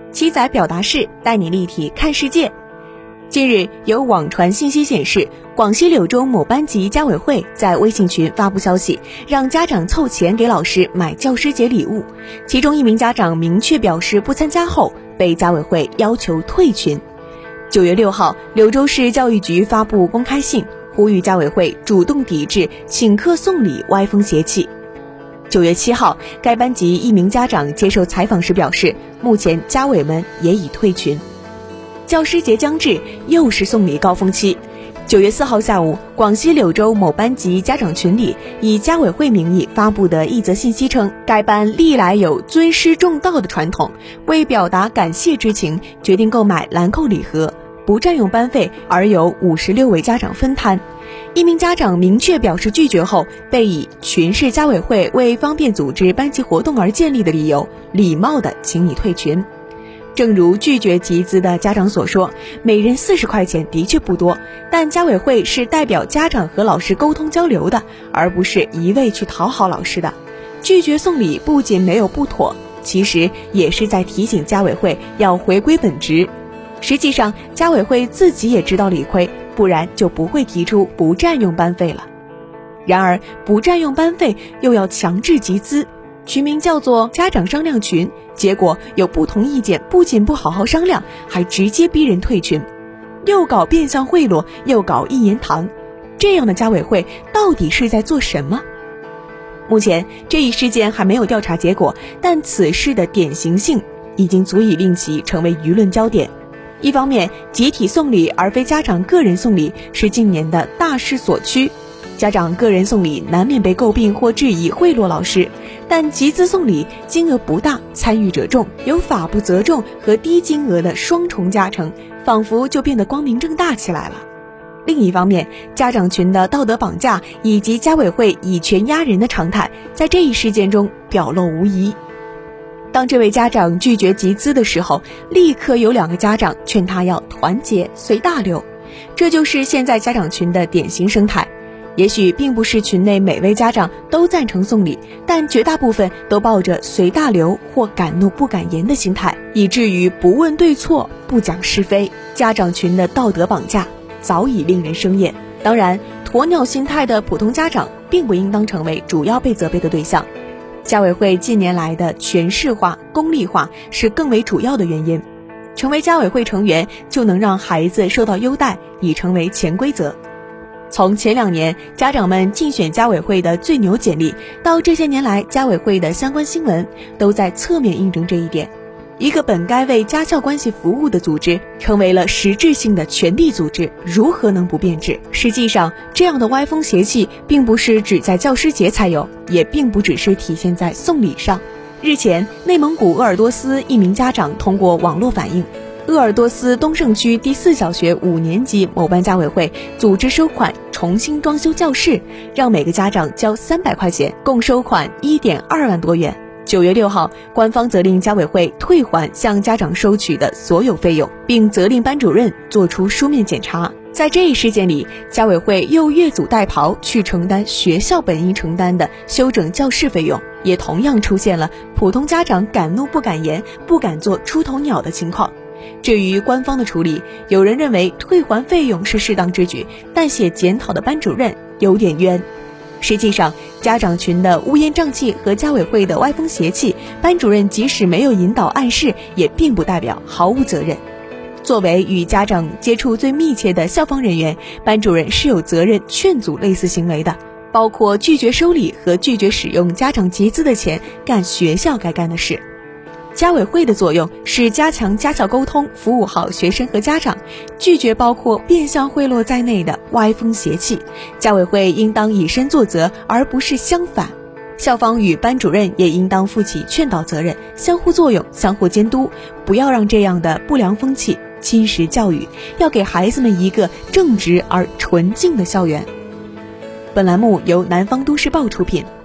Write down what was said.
七仔表达式带你立体看世界。近日，有网传信息显示，广西柳州某班级家委会在微信群发布消息，让家长凑钱给老师买教师节礼物。其中一名家长明确表示不参加后，被家委会要求退群。9月6号，柳州市教育局发布公开信，呼吁家委会主动抵制请客送礼歪风邪气。9月7号，该班级一名家长接受采访时表示，目前家委们也已退群。教师节将至，又是送礼高峰期。9月4号下午，广西柳州某班级家长群里以家委会名义发布的一则信息称，该班历来有尊师重道的传统，为表达感谢之情，决定购买兰蔻礼盒，不占用班费，而由56位家长分摊。一名家长明确表示拒绝后，被以群是家委会为方便组织班级活动而建立的理由，礼貌地请你退群。正如拒绝集资的家长所说，每人40块钱的确不多，但家委会是代表家长和老师沟通交流的，而不是一味去讨好老师的。拒绝送礼不仅没有不妥，其实也是在提醒家委会要回归本职。实际上，家委会自己也知道理亏，不然就不会提出不占用班费了。然而，不占用班费又要强制集资，群名叫做家长商量群，结果有不同意见，不仅不好好商量，还直接逼人退群，又搞变相贿赂，又搞一言堂，这样的家委会到底是在做什么？目前这一事件还没有调查结果，但此事的典型性已经足以令其成为舆论焦点。一方面，集体送礼而非家长个人送礼是近年的大势所趋，家长个人送礼难免被诟病或质疑贿赂老师，但集资送礼金额不大，参与者众，有法不责众和低金额的双重加成，仿佛就变得光明正大起来了。另一方面，家长群的道德绑架以及家委会以权压人的常态，在这一事件中表露无遗。当这位家长拒绝集资的时候，立刻有2个家长劝他要团结随大流，这就是现在家长群的典型生态。也许并不是群内每位家长都赞成送礼，但绝大部分都抱着随大流或敢怒不敢言的心态，以至于不问对错，不讲是非。家长群的道德绑架早已令人生厌。当然，鸵鸟心态的普通家长并不应当成为主要被责备的对象。家委会近年来的权势化、功利化是更为主要的原因。成为家委会成员就能让孩子受到优待，已成为潜规则。从前2年家长们竞选家委会的最牛简历，到这些年来家委会的相关新闻，都在侧面印证这一点。一个本该为家校关系服务的组织，成为了实质性的权力组织，如何能不变质？实际上，这样的歪风邪气并不是只在教师节才有，也并不只是体现在送礼上。日前，内蒙古鄂尔多斯一名家长通过网络反映，鄂尔多斯东胜区第4小学5年级某班家委会组织收款重新装修教室，让每个家长交300块钱，共收款1.2万多元。9月6号，官方责令家委会退还向家长收取的所有费用，并责令班主任作出书面检查。在这一事件里，家委会又越俎代庖去承担学校本应承担的修整教室费用，也同样出现了普通家长敢怒不敢言、不敢做出头鸟的情况。至于官方的处理，有人认为退还费用是适当之举，但写检讨的班主任有点冤。实际上，家长群的乌烟瘴气和家委会的歪风邪气，班主任即使没有引导暗示，也并不代表毫无责任。作为与家长接触最密切的校方人员，班主任是有责任劝阻类似行为的，包括拒绝收礼和拒绝使用家长集资的钱干学校该干的事。家委会的作用是加强家校沟通，服务好学生和家长，拒绝包括变相贿赂在内的歪风邪气。家委会应当以身作则，而不是相反。校方与班主任也应当负起劝导责任，相互作用，相互监督，不要让这样的不良风气侵蚀教育，要给孩子们一个正直而纯净的校园。本栏目由南方都市报出品。